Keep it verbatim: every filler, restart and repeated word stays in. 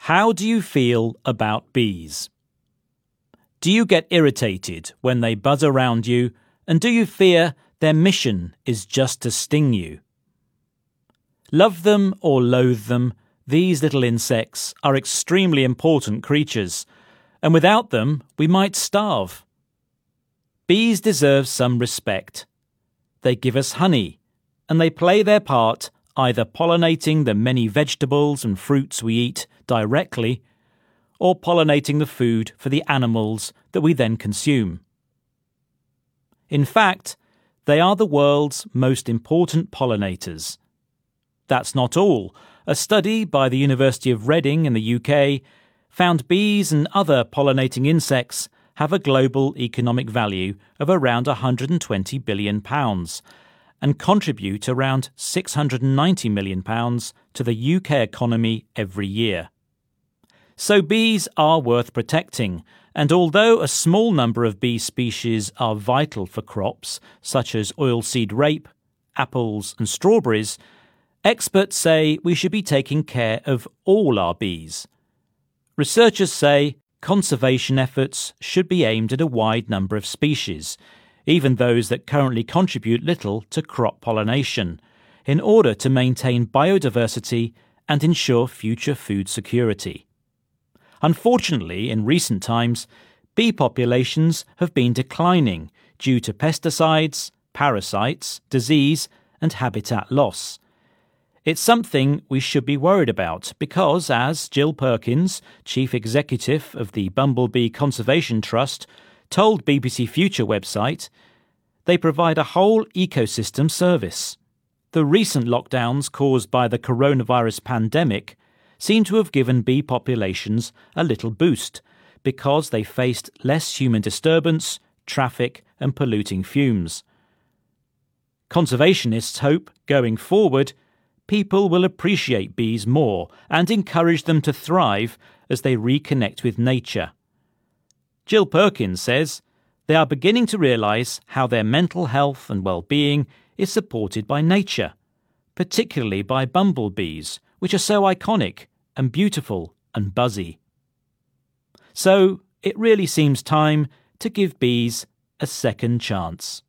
How do you feel about bees? Do you get irritated when they buzz around you, and do you fear their mission is just to sting you? Love them or loathe them, these little insects are extremely important creatures, and without them we might starve. Bees deserve some respect. They give us honey, and they play their part either pollinating the many vegetables and fruits we eat directly, or pollinating the food for the animals that we then consume. In fact, they are the world's most important pollinators. That's not all. A study by the University of Reading in the U K found bees and other pollinating insects have a global economic value of around one hundred twenty billion pounds and contribute around six hundred ninety million pounds to the U K economy every year. So bees are worth protecting, and although a small number of bee species are vital for crops such as oilseed rape, apples and strawberries, experts say we should be taking care of all our bees. Researchers say conservation efforts should be aimed at a wide number of species, even those that currently contribute little to crop pollination, in order to maintain biodiversity and ensure future food security. Unfortunately, in recent times, bee populations have been declining due to pesticides, parasites, disease, and habitat loss. It's something we should be worried about because, as Jill Perkins, Chief Executive of the Bumblebee Conservation Trust, told B B C Future website, they provide a whole ecosystem service. The recent lockdowns caused by the coronavirus pandemic seem to have given bee populations a little boost because they faced less human disturbance, traffic and polluting fumes. Conservationists hope, going forward, people will appreciate bees more and encourage them to thrive as they reconnect with nature. Jill Perkins says they are beginning to realise how their mental health and well-being is supported by nature, particularly by bumblebees, which are so iconic and beautiful and buzzy. So it really seems time to give bees a second chance.